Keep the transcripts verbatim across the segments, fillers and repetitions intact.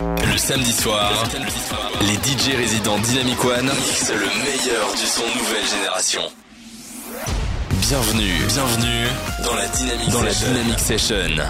Le samedi soir, les D J résidents Dynamic One mixent le meilleur du son nouvelle génération. Bienvenue, bienvenue dans la Dynamic dans Session. La Dynamic Session.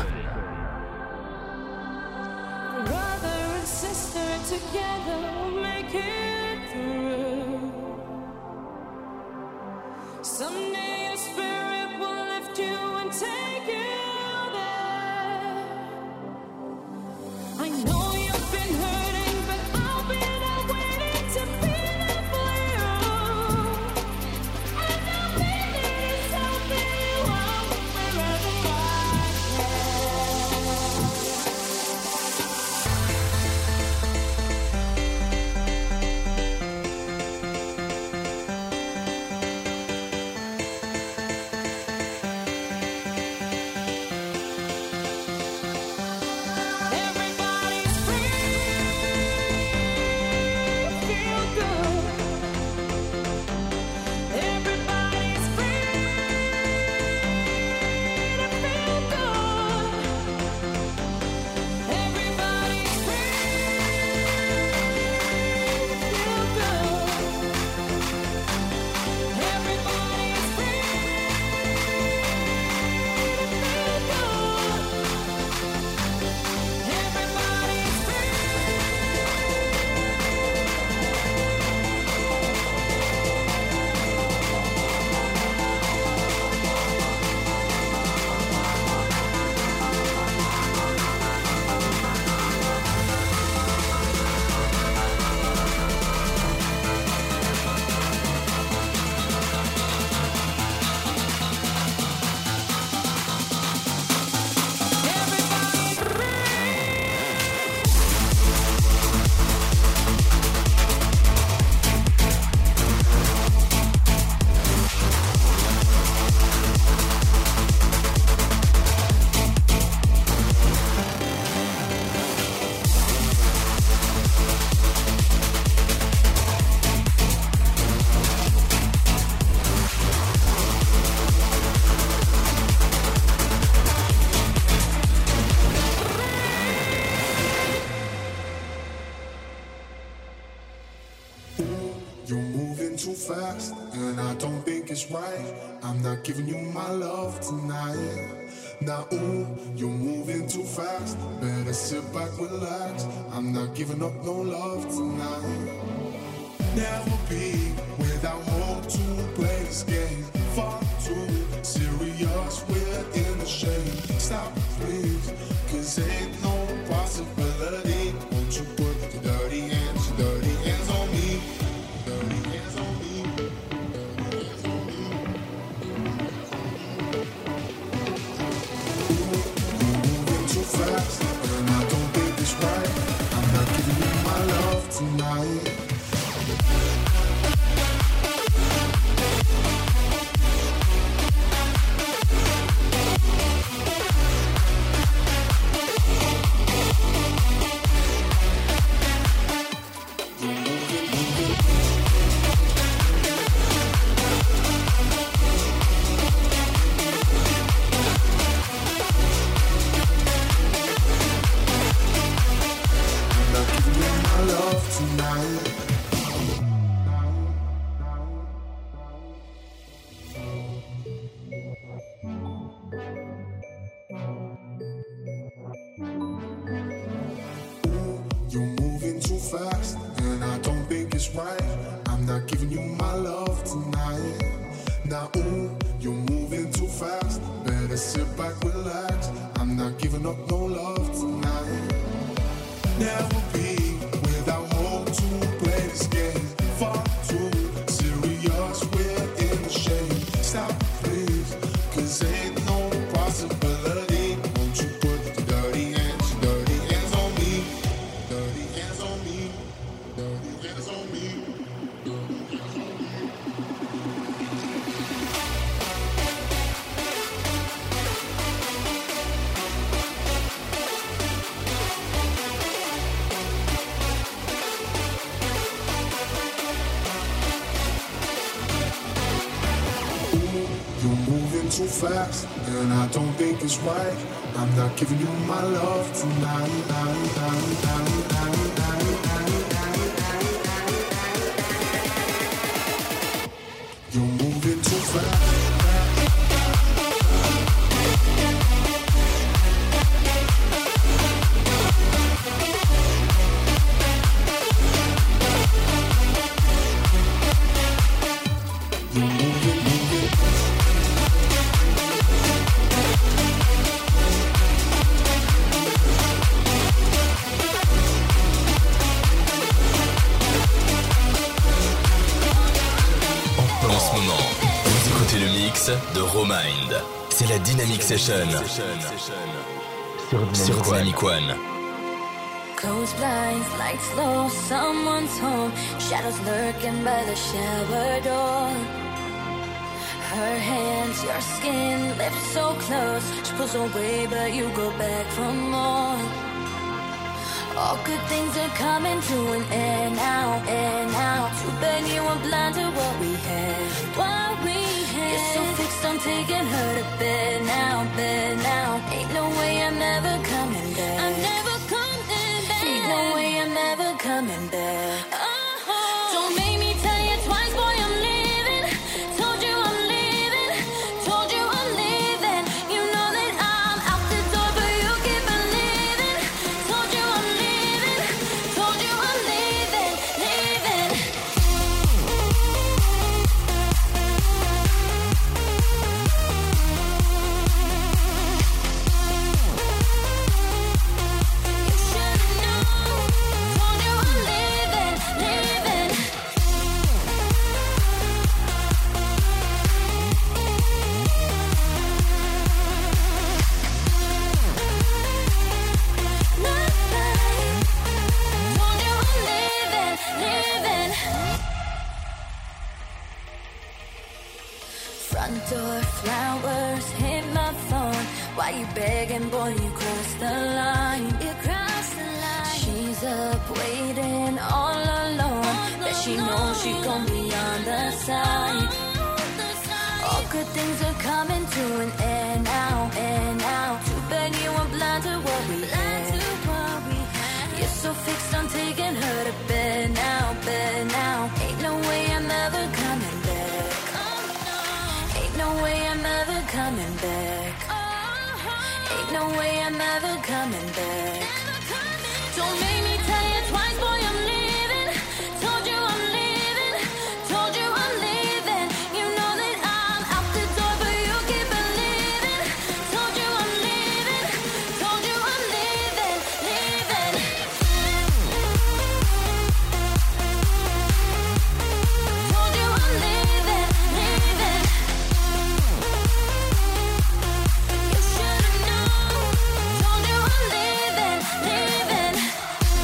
Fast, and I don't think it's right. I'm not giving you my love tonight. Now, ooh, you're moving too fast. Better sit back, relax. I'm not giving up no love tonight. Never be without hope to play this game. Far too serious, we're in the shade. Stop, please, cause ain't no possibility. Won't you put your dirty hands, your dirty hands on me? Dirty hands on me. Fast, and I don't think it's right. I'm not giving you my love tonight. Too fast, and I don't think it's right. I'm not giving you my love tonight. mix de Romind. C'est la Dynamic Session sur Dynamic One. Closed blinds, lights low, someone's home. Shadows lurking by the shower door. Her hands, your skin, lips so close. She pulls away, but you go back for more. All good things are coming to an end now, end now. Too bad you were blind to what we had, what we had. You're so fixed on taking her to bed now, bed now. Ain't no way I'm ever coming back. I'm never coming back. Ain't no way I'm ever coming back. Oh, don't make me tell you twice, boy, I'm leaving. Told you I'm leaving. Told you I'm leaving. You know that I'm out the door, but you keep believing. Told you I'm leaving. Told you I'm leaving, leaving. You should've known. Told you I'm leaving, leaving. Not right. Told you I'm leaving, leaving. Front door flowers hit my phone. Why you begging, boy? You crossed the line. You crossed the line. She's up waiting all alone. Bet she knows she gon' be on the side. All good things are coming to an end now, end now. Too bad you were blind to what we had. You're so fixed on taking her to bed now, bed now. Ain't no way I'm ever coming back. Ain't no way I'm ever coming back. Ain't no way I'm ever coming back. Don't make me tell you twice, boy, I'm leaving. Told you I'm leaving. Told you I'm leaving. You know that I'm out the door, but you keep believing. Told you I'm leaving. Told you I'm leaving, leaving. Told you I'm leaving, leaving. You should've known. Told you I'm leaving, leaving.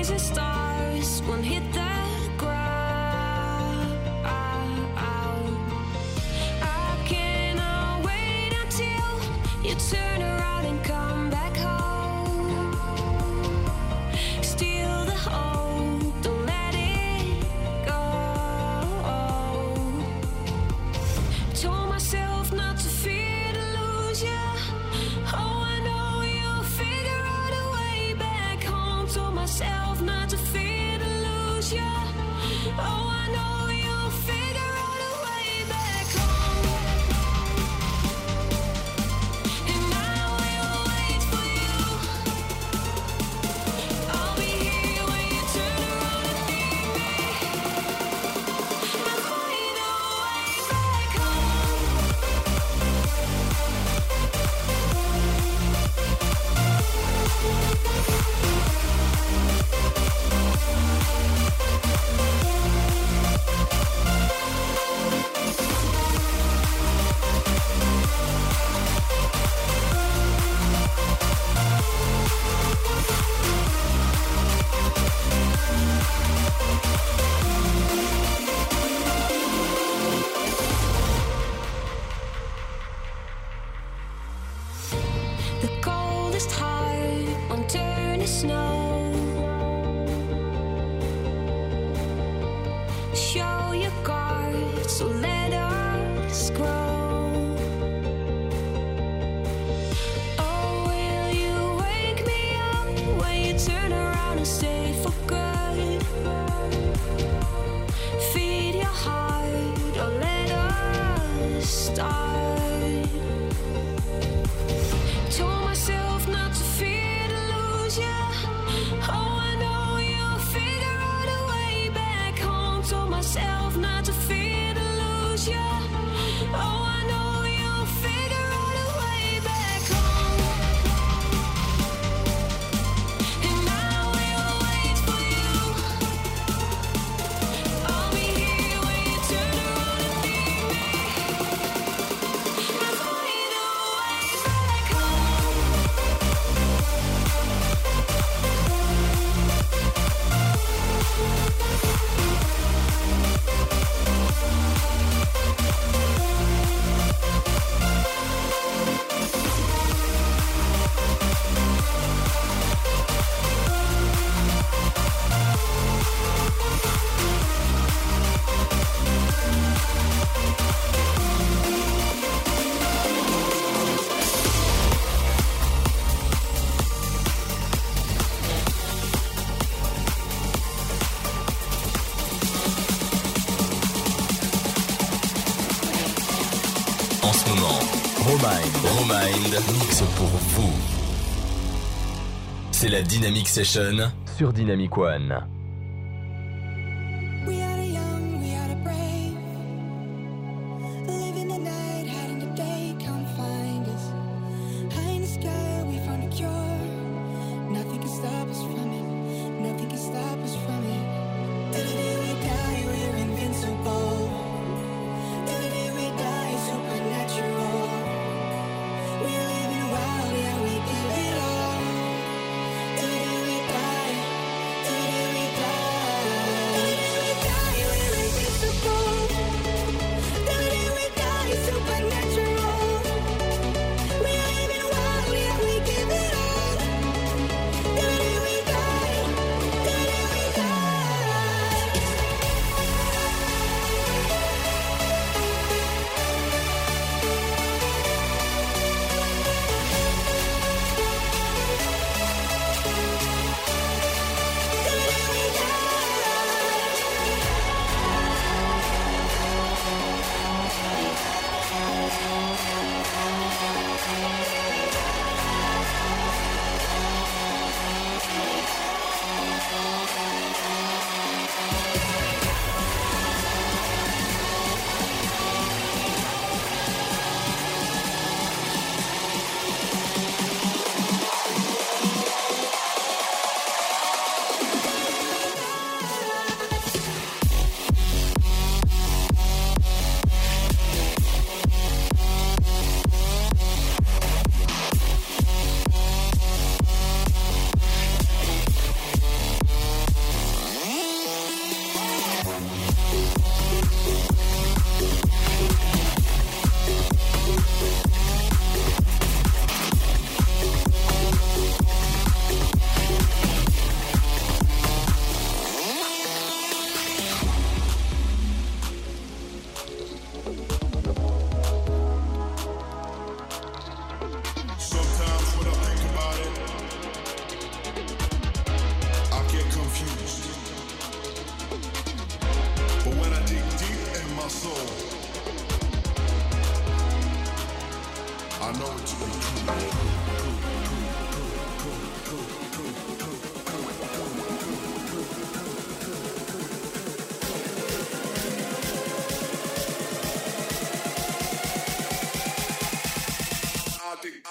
blazing stars won't hit the ground. I cannot wait until you turn around and come back home. Steal the hope, don't let it go. Told myself not to fear to lose you. Oh, I know you'll figure out a way back home. Told myself not to fear to lose you. Oh, I know you'll figure out a way back home. And I will wait for you. I'll be here when you turn around and need me. I'll find a way back home. The coldest heart won't turn to snow. Show your guard, so let us grow. Oh, will you wake me up when you turn around and stay for good? Feed your heart, or let us start. Told myself not to fear to lose you. Oh, I know you'll figure out a way back home. Told myself not to fear to lose you. Oh, I know you'll figure out a way back home. And I will wait for you. I'll be here when you turn around and need me. I'll find a way back home. En ce moment, Romind, Romind mixe pour vous. C'est la Dynamic Session sur Dynamic One. We are the young, we are the brave. Living the night, hiding the day, come find us. High in the sky, we found a cure. Nothing can stop us from it. Nothing can stop us from it. Till the day we die, we're invincible. Till the day we die, supernatural. We're living wild, yeah, we give it all. Till the day we die, till the day we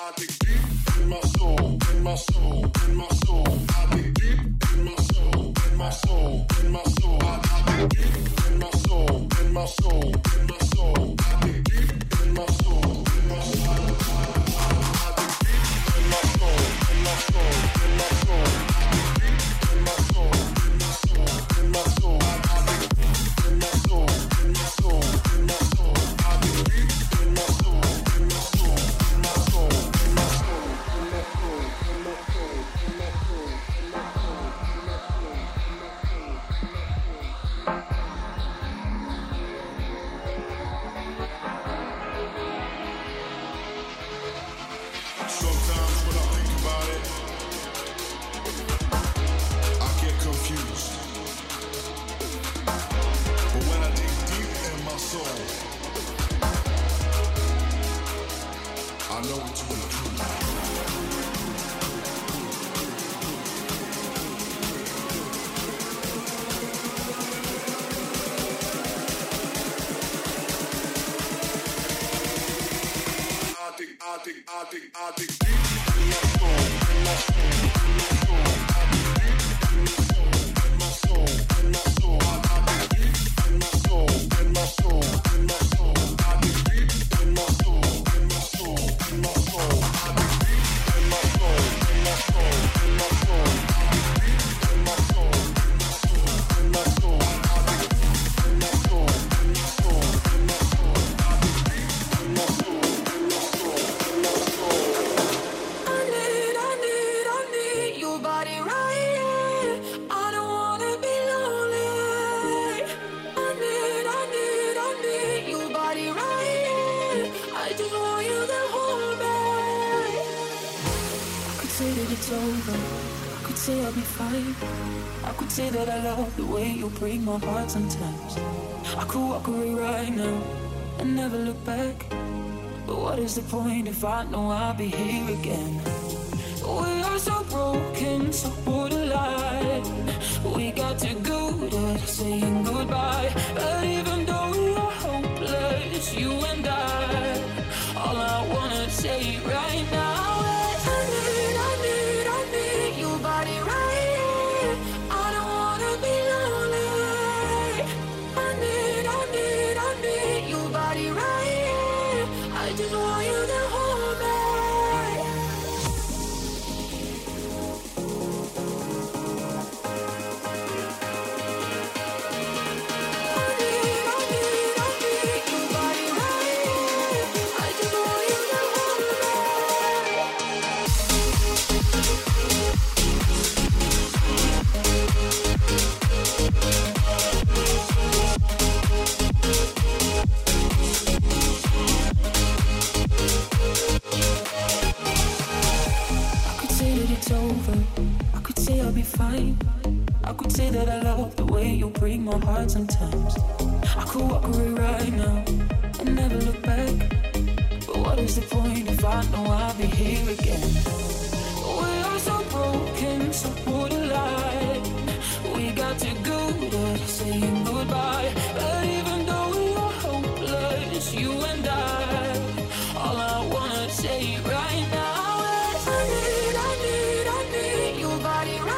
Say that I love the way you break my heart sometimes. I could walk away right now and never look back. But what is the point if I know I'll be here again? We are so broken, so borderline. We got too good at saying goodbye. But even though we are hopeless, you and I, all I wanna say right now is I need, I need, I need your body right. I could say that I love the way you break my heart sometimes. I could walk away right now and never look back. But what is the point if I know I'll be here again? We are so broken, so borderline. We got too good at saying goodbye. But even though we are hopeless, you and I, all I wanna say right now is I need, I need, I need your body right.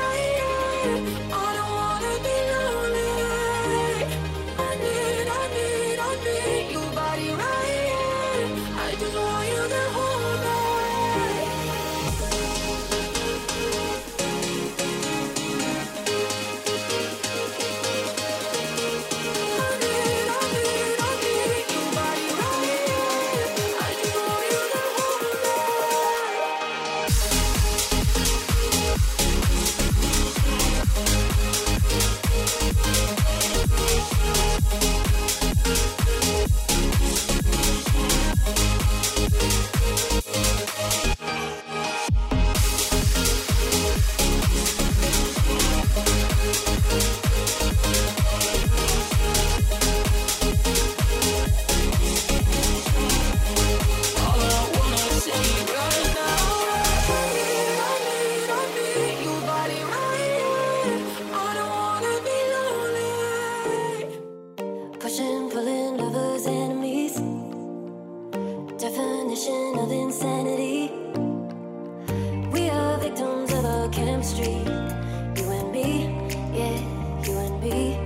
chemistry. You and me, yeah, you and me.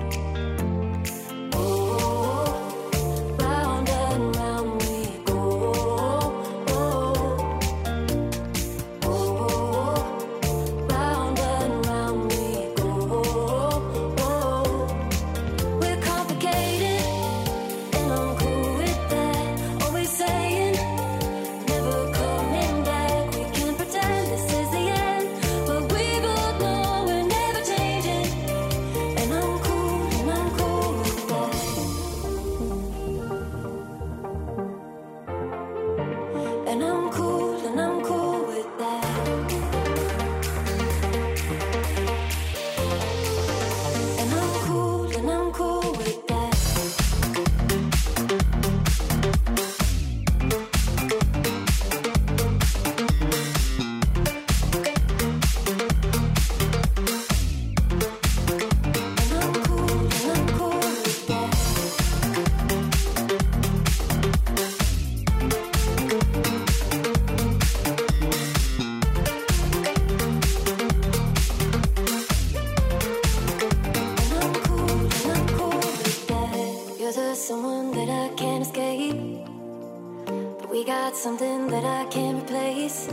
Something that I can't replace.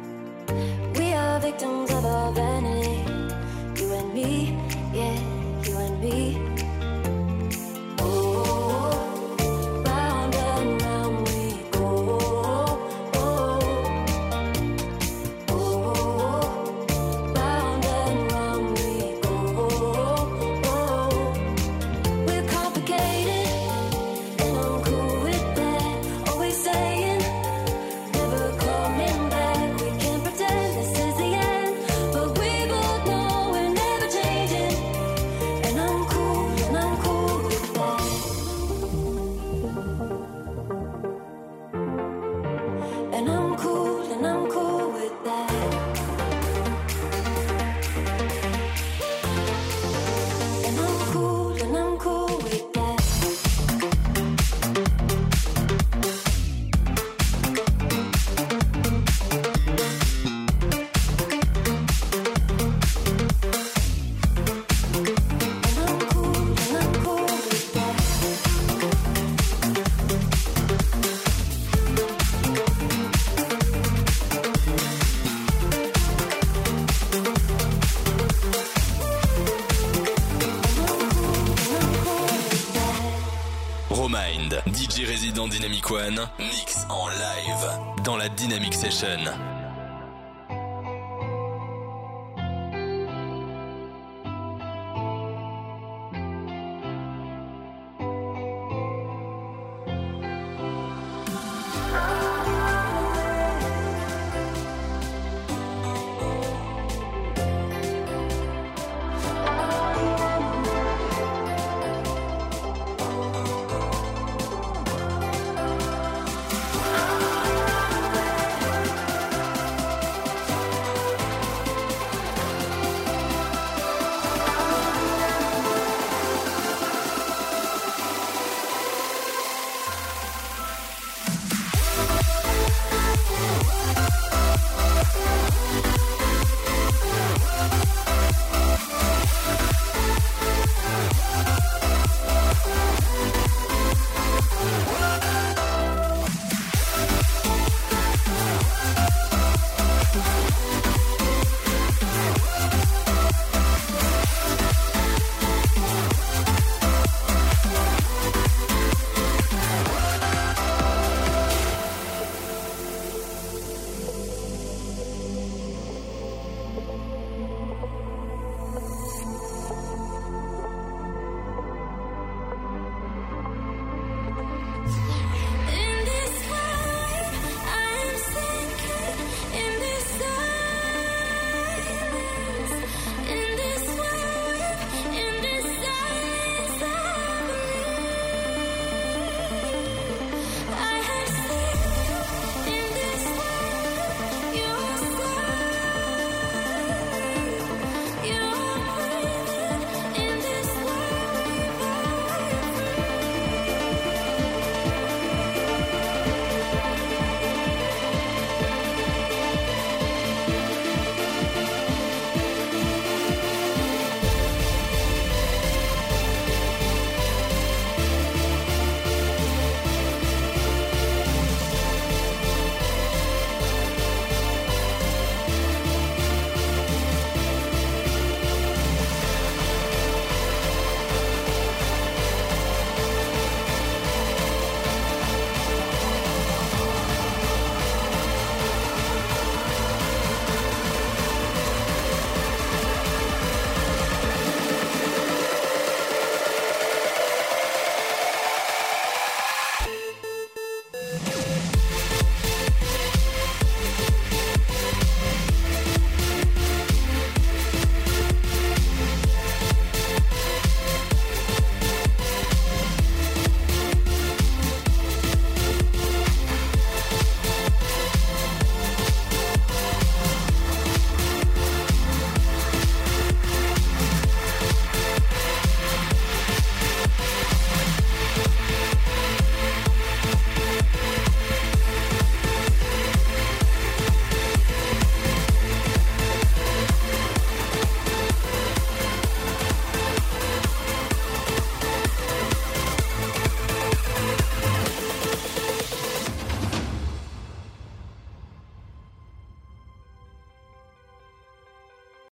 We are victims of our vanity. You and me, yeah, you and me. D J résident Dynamic One, mix en live dans la Dynamic Session.